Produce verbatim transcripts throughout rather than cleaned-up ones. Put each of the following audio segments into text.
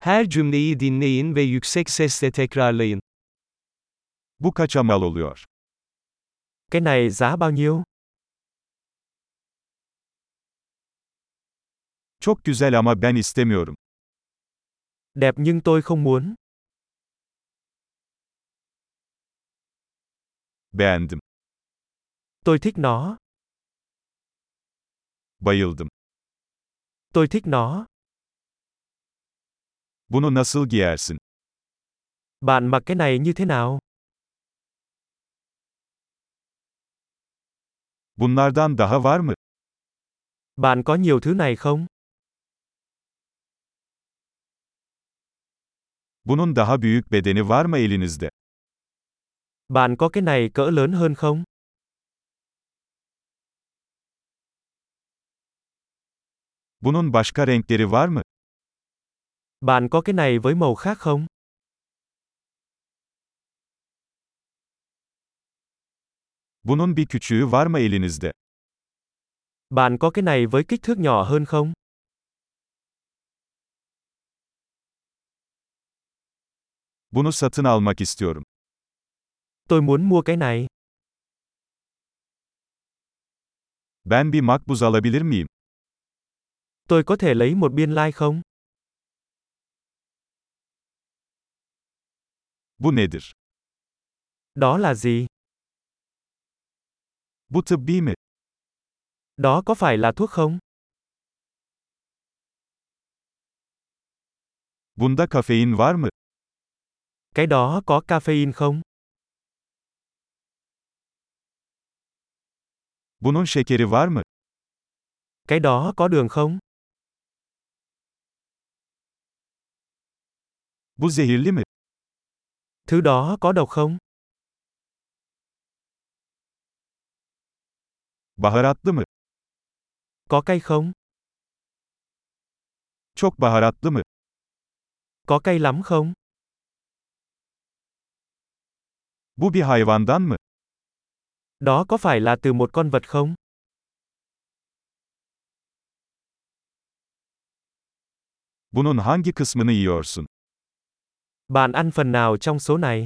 Her cümleyi dinleyin ve yüksek sesle tekrarlayın. Bu kaça mal oluyor? Cái này giá bao nhiêu? Çok güzel ama ben istemiyorum. Đẹp nhưng tôi không muốn. Beğendim. Tôi thích nó. Bayıldım. Tôi thích nó. Bunu nasıl giyersin? Bạn mặc cái này như thế nào? Bunlardan daha var mı? Bạn có nhiều thứ này không? Bunun daha büyük bedeni var mı elinizde? Bạn có cái này cỡ lớn hơn không? Bunun başka renkleri var mı? Bạn có cái này với màu khác không? Bunun bir küçüğü var mı elinizde? Bạn có cái này với kích thước nhỏ hơn không? Bunu satın almak istiyorum. Tôi muốn mua cái này. Ben bir makbuz alabilir miyim? Tôi có thể lấy một biên lai không? Bu nedir? Đó là gì? Bu tıbbi mi? Đó có phải là thuốc không? Bunda kafein var mı? Cái đó có caffeine không? Bunun şekeri var mı? Cái đó có đường không? Bu zehirli mi? Thứ đó có độc không? Baharatlı mı? Có cay không? Çok baharatlı mı? Có cay lắm không? Bu bir hayvandan mı? Đó có phải là từ một con vật không? Bunun hangi kısmını yiyorsun? Bạn ăn phần nào trong số này?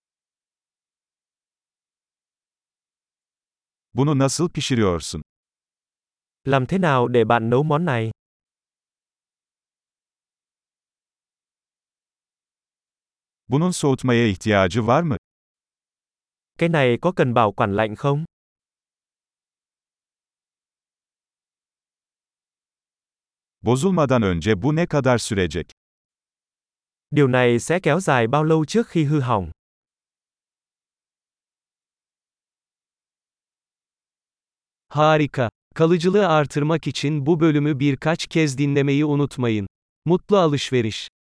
Bunu nasıl pişiriyorsun? Làm thế nào để bạn nấu món này? Bunun soğutmaya ihtiyacı var mı? Cái này có cần bảo quản lạnh không? Bozulmadan önce bu ne kadar sürecek? Điều này sẽ kéo dài bao lâu trước khi hư hỏng? Harika. Kalıcılığı artırmak için bu bölümü birkaç kez dinlemeyi unutmayın. Mutlu alışveriş.